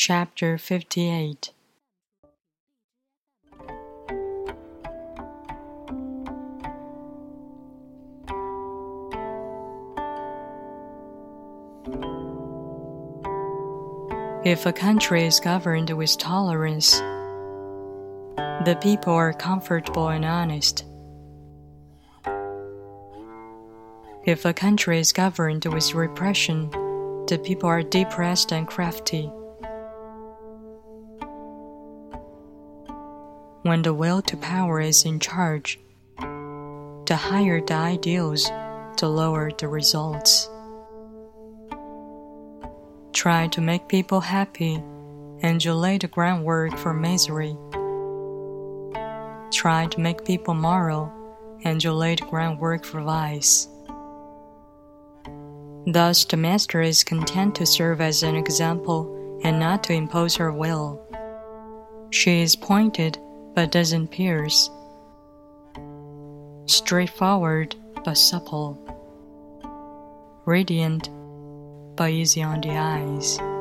Chapter 58. If a country is governed with tolerance, the people are comfortable and honest. If a country is governed with repression, the people are depressed and crafty. When the will to power is in charge, the higher the ideals, the lower the results. Try to make people happy, and you lay the groundwork for misery. Try to make people moral, and you lay the groundwork for vice. Thus, the master is content to serve as an example and not to impose her will. She is pointed, but doesn't pierce, straightforward but supple, radiant but easy on the eyes.